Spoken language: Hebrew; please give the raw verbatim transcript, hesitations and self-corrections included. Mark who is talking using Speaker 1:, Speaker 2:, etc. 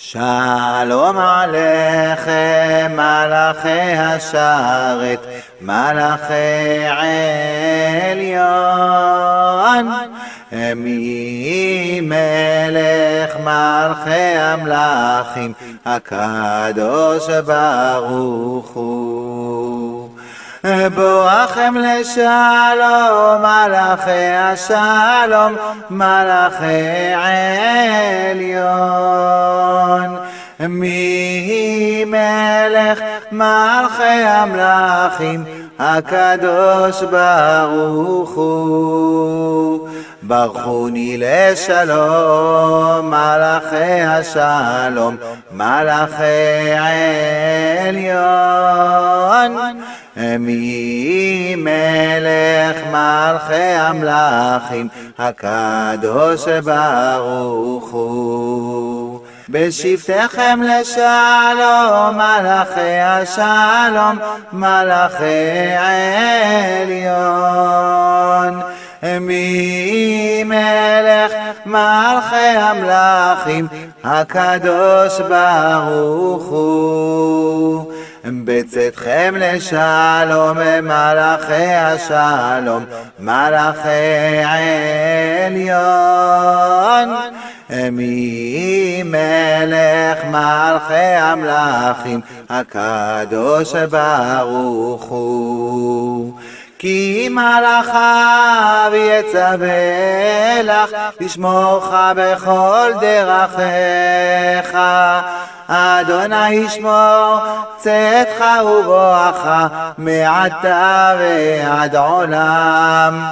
Speaker 1: שלום עליכם מלאכי השרת, מלאכי עליון, מי מלך מלכי המלכים, הקדוש ברוך הוא. בואכם לשלום מלאכי השלום, מלאכי עליון, מי מלך מלכי המלכים, הקדוש ברוך הוא. ברכוני לשלום מלאכי השלום, מלאכי עליון, מי מלך מלכי המלכים, הקדוש ברוך הוא. בשבתכם לשלום מלאכי השלום, מלאכי עליון, מי מלך מלכי המלכים, הקדוש ברוך הוא. בצאתכם לשלום מלאכי השלום, מלאכי עליון, מי מלך מלכי המלכים, הקדוש ברוך הוא. כי מלאכיו יצווה לך לשמורך בכל דרכיך, אדוני ישמור צאתך ובואך מעתה ועד עולם.